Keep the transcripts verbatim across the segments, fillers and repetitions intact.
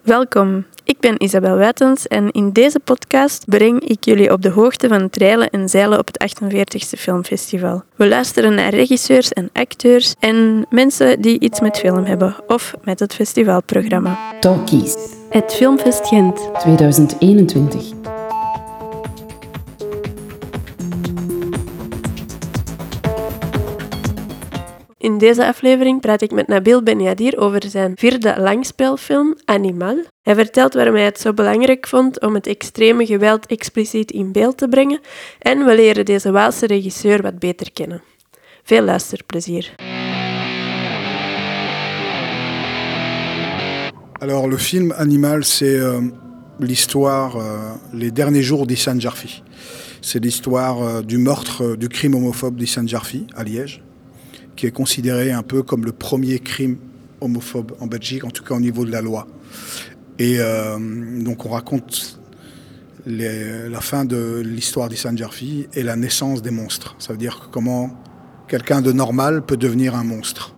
Welkom, ik ben Isabel Wijtens en in deze podcast breng ik jullie op de hoogte van het reilen en zeilen op het achtenveertigste Filmfestival. We luisteren naar regisseurs en acteurs en mensen die iets met film hebben of met het festivalprogramma. Talkies. Het Filmfest Gent tweeduizend eenentwintig. In deze aflevering praat ik met Nabil Benyadir over zijn vierde langspeelfilm Animal. Hij vertelt waarom hij het zo belangrijk vond om het extreme geweld expliciet in beeld te brengen en we leren deze Waalse regisseur wat beter kennen. Veel luisterplezier. Alors le film Animal, c'est euh, l'histoire, euh, les derniers jours d'Ihsan Jarfi. C'est l'histoire euh, du meurtre, euh, du crime homophobe d'Ihsan Jarfi à Liège, qui est considéré un peu comme le premier crime homophobe en Belgique, en tout cas au niveau de la loi. Et euh, donc on raconte les, la fin de l'histoire d'Ihsan Jarfi et la naissance des monstres. Ça veut dire comment quelqu'un de normal peut devenir un monstre.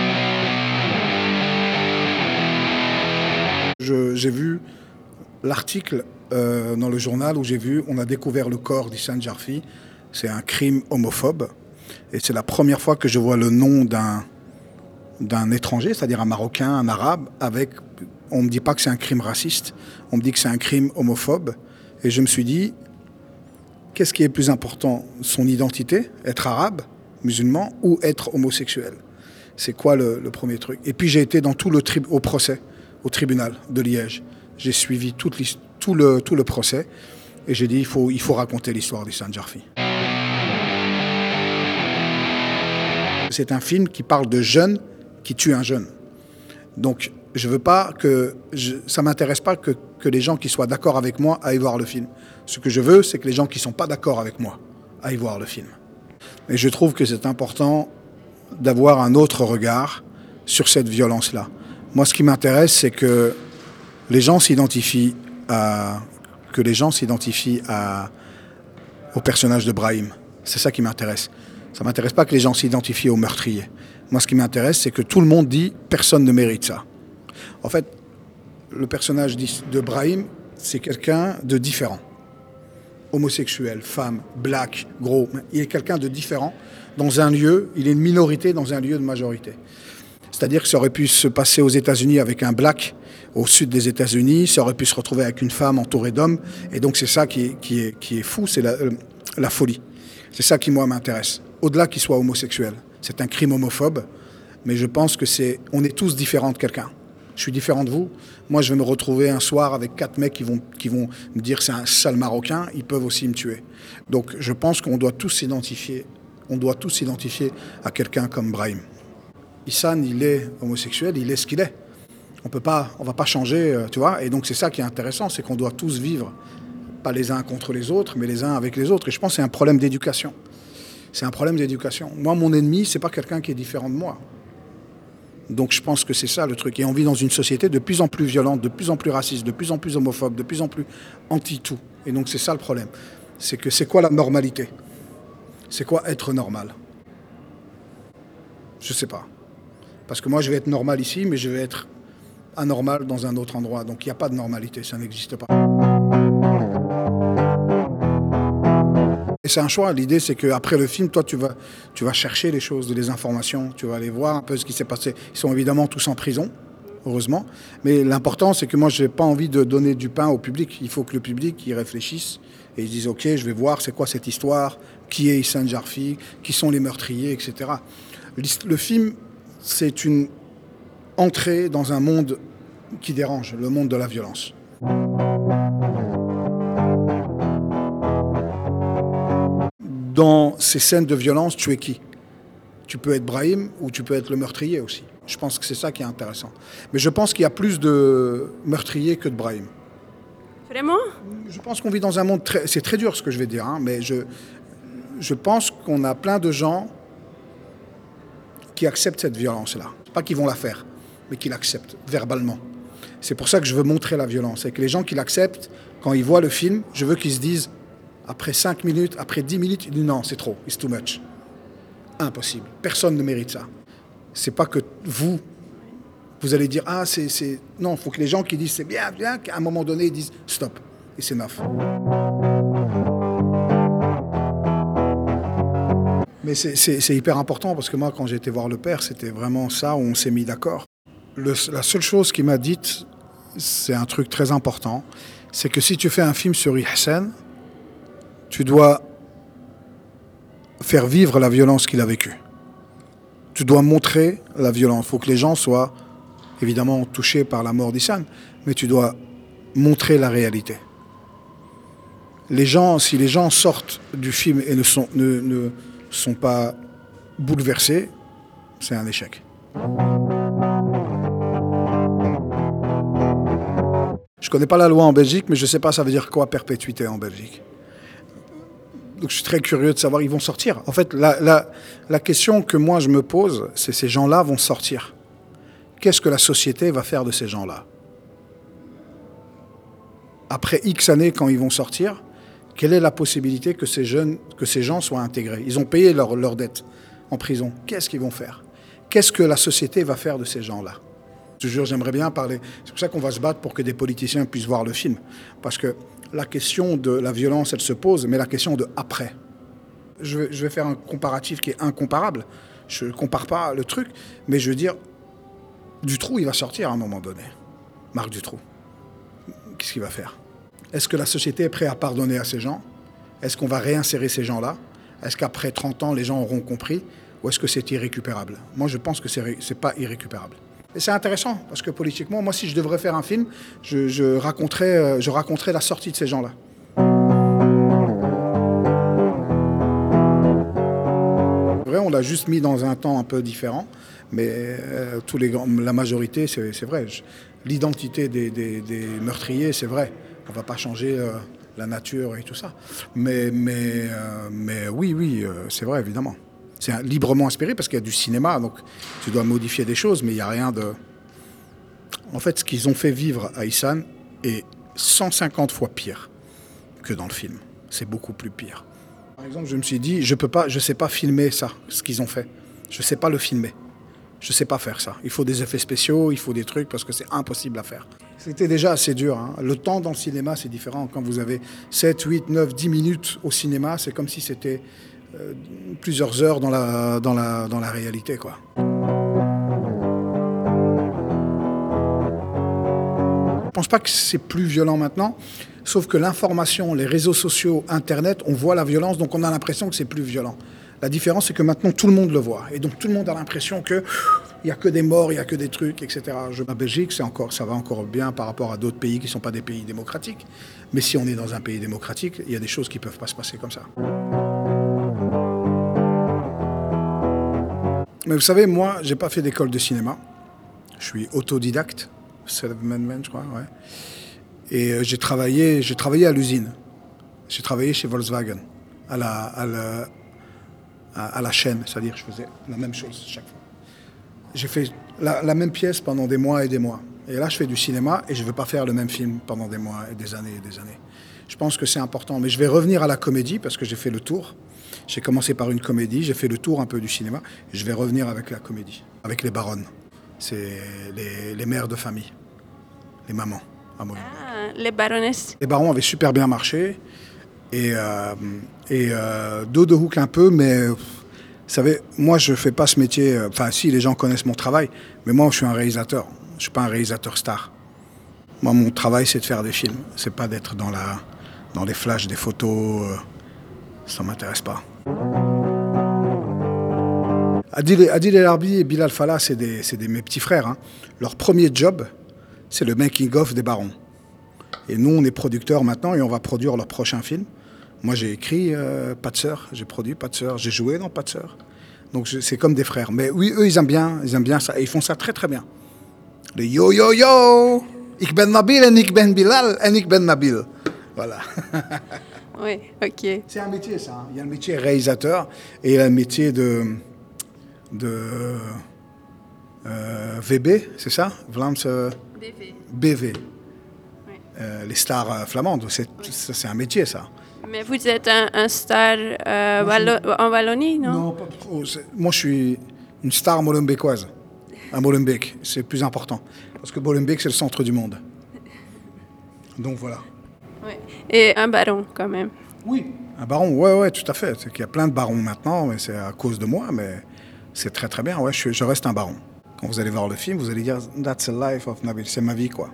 Je, j'ai vu l'article euh, dans le journal où j'ai vu on a découvert le corps d'Ihsan Jarfi. C'est un crime homophobe. Et c'est la première fois que je vois le nom d'un, d'un étranger, c'est-à-dire un Marocain, un Arabe, avec... On ne me dit pas que c'est un crime raciste, on me dit que c'est un crime homophobe. Et je me suis dit, qu'est-ce qui est plus important? Son identité, être arabe, musulman, ou être homosexuel? C'est quoi le, le premier truc? Et puis j'ai été dans tout le tri- au procès, au tribunal de Liège. J'ai suivi toute tout, le, tout le procès et j'ai dit, il faut, il faut raconter l'histoire d'Ihsan Jarfi. C'est un film qui parle de jeunes qui tuent un jeune. Donc, je veux pas que... Je, ça ne m'intéresse pas que, que les gens qui soient d'accord avec moi aillent voir le film. Ce que je veux, c'est que les gens qui ne sont pas d'accord avec moi aillent voir le film. Et je trouve que c'est important d'avoir un autre regard sur cette violence-là. Moi, ce qui m'intéresse, c'est que les gens s'identifient à... que les gens s'identifient à, au personnage de Brahim. C'est ça qui m'intéresse. Ça ne m'intéresse pas que les gens s'identifient aux meurtriers. Moi, ce qui m'intéresse, c'est que tout le monde dit « personne ne mérite ça ». En fait, le personnage de Brahim, c'est quelqu'un de différent. Homosexuel, femme, black, gros. Il est quelqu'un de différent dans un lieu, il est une minorité dans un lieu de majorité. C'est-à-dire que ça aurait pu se passer aux États-Unis avec un black au sud des États-Unis, ça aurait pu se retrouver avec une femme entourée d'hommes. Et donc, c'est ça qui est, qui est, qui est fou, c'est la, euh, la folie. C'est ça qui, moi, m'intéresse. Au-delà qu'il soit homosexuel. C'est un crime homophobe, mais je pense que c'est... On est tous différents de quelqu'un. Je suis différent de vous. Moi, je vais me retrouver un soir avec quatre mecs qui vont, qui vont me dire c'est un sale Marocain, ils peuvent aussi me tuer. Donc, je pense qu'on doit tous s'identifier. On doit tous s'identifier à quelqu'un comme Brahim. Ihsan, il est homosexuel, il est ce qu'il est. On peut pas, on va pas changer, tu vois. Et donc, c'est ça qui est intéressant, c'est qu'on doit tous vivre, pas les uns contre les autres, mais les uns avec les autres. Et je pense que c'est un problème d'éducation. C'est un problème d'éducation. Moi, mon ennemi, c'est pas quelqu'un qui est différent de moi. Donc je pense que c'est ça le truc. Et on vit dans une société de plus en plus violente, de plus en plus raciste, de plus en plus homophobe, de plus en plus anti-tout. Et donc c'est ça le problème. C'est que c'est quoi la normalité? C'est quoi être normal? Je sais pas. Parce que moi, je vais être normal ici, mais je vais être anormal dans un autre endroit. Donc il n'y a pas de normalité, ça n'existe pas. Et c'est un choix. L'idée, c'est qu'après le film, toi, tu vas, tu vas chercher les choses, les informations, tu vas aller voir un peu ce qui s'est passé. Ils sont évidemment tous en prison, heureusement. Mais l'important, c'est que moi, je n'ai pas envie de donner du pain au public. Il faut que le public y réfléchisse et ils disent « Ok, je vais voir c'est quoi cette histoire, qui est Ihsan Jarfi, qui sont les meurtriers, et cetera » Le film, c'est une entrée dans un monde qui dérange, le monde de la violence. Dans ces scènes de violence, tu es qui? Tu peux être Brahim ou tu peux être le meurtrier aussi. Je pense que c'est ça qui est intéressant. Mais je pense qu'il y a plus de meurtriers que de Brahim. Vraiment? Je pense qu'on vit dans un monde très... C'est très dur ce que je vais dire, hein, mais je, je pense qu'on a plein de gens qui acceptent cette violence-là. Pas qu'ils vont la faire, mais qui l'acceptent verbalement. C'est pour ça que je veux montrer la violence. Et que les gens qui l'acceptent, quand ils voient le film, je veux qu'ils se disent... Après cinq minutes, après dix minutes, il dit non, c'est trop, it's too much. Impossible. Personne ne mérite ça. C'est pas que vous Vous allez dire, ah, c'est... c'est... Non, il faut que les gens qui disent c'est bien, bien, qu'à un moment donné, ils disent stop. Et c'est neuf. Mais c'est, c'est, c'est hyper important parce que moi, quand j'ai été voir le père, c'était vraiment ça où on s'est mis d'accord. Le, la seule chose qu'il m'a dite, c'est un truc très important, c'est que si tu fais un film sur Ihsan, tu dois faire vivre la violence qu'il a vécue. Tu dois montrer la violence. Il faut que les gens soient évidemment touchés par la mort d'Ihsan, mais tu dois montrer la réalité. Les gens, si les gens sortent du film et ne sont, ne, ne sont pas bouleversés, c'est un échec. Je ne connais pas la loi en Belgique, mais je ne sais pas ça veut dire quoi perpétuité en Belgique. Donc je suis très curieux de savoir, ils vont sortir. En fait, la, la, la question que moi je me pose, c'est ces gens-là vont sortir. Qu'est-ce que la société va faire de ces gens-là? Après X années, quand ils vont sortir, quelle est la possibilité que ces, jeunes, que ces gens soient intégrés? Ils ont payé leur, leur dette en prison. Qu'est-ce qu'ils vont faire? Qu'est-ce que la société va faire de ces gens-là? Je te jure, j'aimerais bien parler. C'est pour ça qu'on va se battre pour que des politiciens puissent voir le film. Parce que la question de la violence, elle se pose, mais la question de après. Je vais, je vais faire un comparatif qui est incomparable. Je ne compare pas le truc, mais je veux dire, Dutroux, il va sortir à un moment donné. Marc Dutroux. Qu'est-ce qu'il va faire? Est-ce que la société est prête à pardonner à ces gens? Est-ce qu'on va réinsérer ces gens-là? Est-ce qu'après trente ans, les gens auront compris? Ou est-ce que c'est irrécupérable? Moi, je pense que ce n'est pas irrécupérable. Et c'est intéressant, parce que politiquement, moi, si je devrais faire un film, je, je, raconterais, je raconterais la sortie de ces gens-là. Vrai, on l'a juste mis dans un temps un peu différent, mais euh, tous les, la majorité, c'est, c'est vrai. Je, l'identité des, des, des meurtriers, c'est vrai. On ne va pas changer euh, la nature et tout ça. Mais, mais, euh, mais oui, oui, euh, c'est vrai, évidemment. C'est un, librement inspiré parce qu'il y a du cinéma, donc tu dois modifier des choses, mais il n'y a rien de... En fait, ce qu'ils ont fait vivre à Ihsan est cent cinquante fois pire que dans le film. C'est beaucoup plus pire. Par exemple, je me suis dit, je peux pas, je ne sais pas filmer ça, ce qu'ils ont fait. Je ne sais pas le filmer. Je ne sais pas faire ça. Il faut des effets spéciaux, il faut des trucs, parce que c'est impossible à faire. C'était déjà assez dur. Hein. Le temps dans le cinéma, c'est différent. Quand vous avez sept, huit, neuf, dix minutes au cinéma, c'est comme si c'était euh, plusieurs heures dans la, dans la, dans la réalité, quoi. Je ne pense pas que c'est plus violent maintenant, sauf que l'information, les réseaux sociaux, Internet, on voit la violence, donc on a l'impression que c'est plus violent. La différence, c'est que maintenant, tout le monde le voit. Et donc, tout le monde a l'impression qu'il n'y a que des morts, il n'y a que des trucs, et cetera. Je, la Belgique, c'est encore, ça va encore bien par rapport à d'autres pays qui ne sont pas des pays démocratiques. Mais si on est dans un pays démocratique, il y a des choses qui ne peuvent pas se passer comme ça. Mais vous savez, moi, je n'ai pas fait d'école de cinéma. Je suis autodidacte, self-made man, je crois, ouais. Et euh, j'ai travaillé, j'ai travaillé à l'usine. J'ai travaillé chez Volkswagen, à la... À la à la chaîne, c'est-à-dire je faisais la même chose chaque fois. J'ai fait la, la même pièce pendant des mois et des mois. Et là, je fais du cinéma et je ne veux pas faire le même film pendant des mois et des années et des années. Je pense que c'est important. Mais je vais revenir à la comédie parce que j'ai fait le tour. J'ai commencé par une comédie, j'ai fait le tour un peu du cinéma. Et je vais revenir avec la comédie, avec les baronnes. C'est les, les mères de famille, les mamans à Molenbeek. Ah, les baronnesses. Les barons avaient super bien marché. Et, euh, et euh, dos de hook un peu, mais vous savez, moi je fais pas ce métier, enfin si les gens connaissent mon travail, mais moi je suis un réalisateur, je suis pas un réalisateur star. Moi mon travail c'est de faire des films, c'est pas d'être dans, la, dans les flashs, des photos, euh, ça m'intéresse pas. Adil, Adil El Arbi et Bilal Fallah, c'est des, c'est des, mes petits frères. Hein. Leur premier job, c'est le making-of des barons. Et nous, on est producteurs maintenant et on va produire leur prochain film. Moi, j'ai écrit euh, Pas de sœur, j'ai produit Pas de sœur, j'ai joué dans Pas de sœur. Donc, je, c'est comme des frères. Mais oui, eux, ils aiment bien, ils aiment bien ça. Et ils font ça très, très bien. Le yo, yo, yo, ik ben Nabil en ik ben Bilal en ik ben Nabil. Voilà. Oui, ok. C'est un métier, ça. Hein. Il y a le métier réalisateur et il y a le métier de, de euh, V B, c'est ça? Vlaams euh, B V. B V. Euh, les stars euh, flamandes, c'est, oui. ça, c'est un métier, ça. Mais vous êtes un, un star euh, Wallo- en Wallonie, non? Non, pas trop. C'est, moi, je suis une star molenbeekoise. à Molenbeek. C'est plus important. Parce que Molenbeek, c'est le centre du monde. Donc voilà. Ouais. Et un baron, quand même. Oui, un baron, ouais, ouais, tout à fait. C'est qu'il y a plein de barons maintenant, mais c'est à cause de moi, mais c'est très très bien. Ouais, je, suis, je reste un baron. Quand vous allez voir le film, vous allez dire « That's the life of Nabil », c'est ma vie, quoi.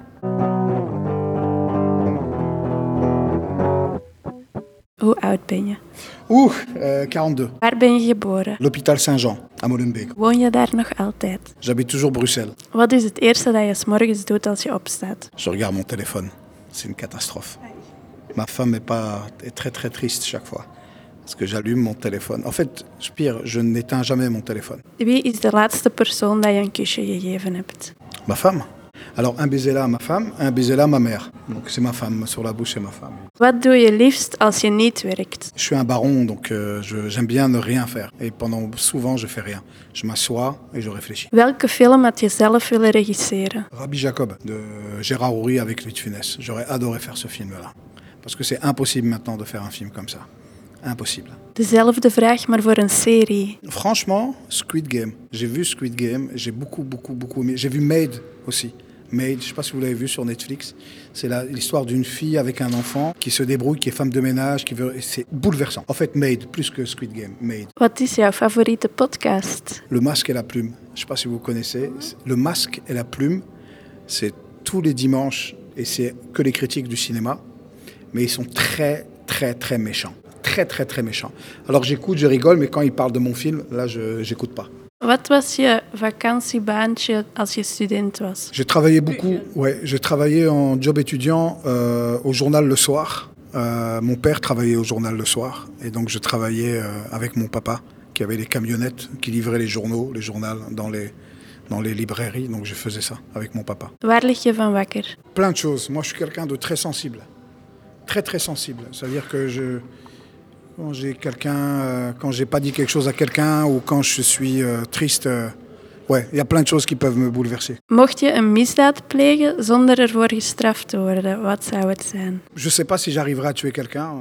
Hoe oud ben je? Oeh, euh, quarante-deux. Waar ben je geboren? L'hôpital Saint-Jean, à Molenbeek. Woon je daar nog altijd? J'habite toujours Bruxelles. Wat is het eerste dat je 's morgens doet als je opstaat? Je regarde mon téléphone. C'est une catastrophe. Ma femme est, pas, est très très triste chaque fois. Parce que j'allume mon téléphone. En fait, pire, je n'éteins jamais mon téléphone. Wie is de laatste persoon dat je een kusje gegeven hebt? Ma femme. Alors, un baiser là à ma femme, un baiser là à ma mère. Donc, c'est ma femme. Sur la bouche, c'est ma femme. Wat doe je liefst als je niet werkt? Je suis un baron, donc euh, je, j'aime bien ne rien faire. Et pendant souvent, je fais rien. Je m'assois et je réfléchis. Welke film had je zelf willen regisseren? Rabbi Jacob, de Gérard Houry avec Louis de Funès. J'aurais adoré faire ce film-là. Parce que c'est impossible maintenant de faire un film comme ça. Impossible. Dezelfde vraag, maar voor een serie. Franchement, Squid Game. J'ai vu Squid Game, j'ai beaucoup, beaucoup, beaucoup aimé. J'ai vu Maid aussi. Maid, je ne sais pas si vous l'avez vu sur Netflix. C'est la, l'histoire d'une fille avec un enfant qui se débrouille, qui est femme de ménage, qui veut. C'est bouleversant. En fait, Maid, plus que Squid Game. Maid. Wat is jouw favoriete podcast? Le masque et la plume. Je ne sais pas si vous connaissez. Le masque et la plume, c'est tous les dimanches et c'est que les critiques du cinéma. Mais ils sont très, très, très méchants. Très, très, très méchants. Alors j'écoute, je rigole, mais quand ils parlent de mon film, là, je n'écoute pas. Wat was je vakantiebaantje als je student was? J'ai travaillé beaucoup, ouais, j'ai travaillé en job étudiant euh, au journal le soir. Euh, mon père travaillait au journal le soir. Et donc je travaillais euh, avec mon papa, qui avait des camionnettes, qui livraient les journaux, les journaux dans les, dans les librairies. Donc je faisais ça avec mon papa. Waar lig je van wakker? Plein de choses. Moi, je suis quelqu'un de très sensible. Très, très sensible. C'est-à-dire que je... Quand j'ai quelqu'un, euh, quand j'ai pas dit quelque chose à quelqu'un ou quand je suis euh, triste, euh, ouais, il y a plein de choses qui peuvent me bouleverser. Mocht je een misdaad plegen zonder ervoor gestraft te worden, wat zou het zijn? Je sais pas si j'arriverai à tuer quelqu'un.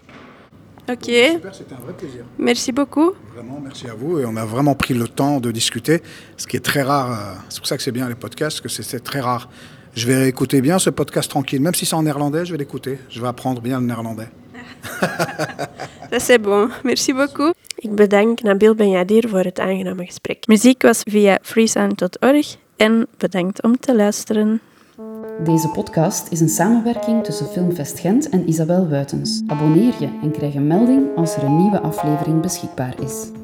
Ok. Super, c'était un vrai plaisir. Merci beaucoup. Vraiment, merci à vous. Et on a vraiment pris le temps de discuter, ce qui est très rare. Euh, c'est pour ça que c'est bien les podcasts, que c'est, c'est très rare. Je vais écouter bien ce podcast tranquille, même si c'est en néerlandais, je vais l'écouter. Je vais apprendre bien le néerlandais. Dat is bon. Merci beaucoup. Ik bedank Nabil Benyadir voor het aangename gesprek. Muziek was via freesound punt org en bedankt om te luisteren. Deze podcast is een samenwerking tussen Filmfest Gent en Isabel Wuitens. Abonneer je en krijg een melding als er een nieuwe aflevering beschikbaar is.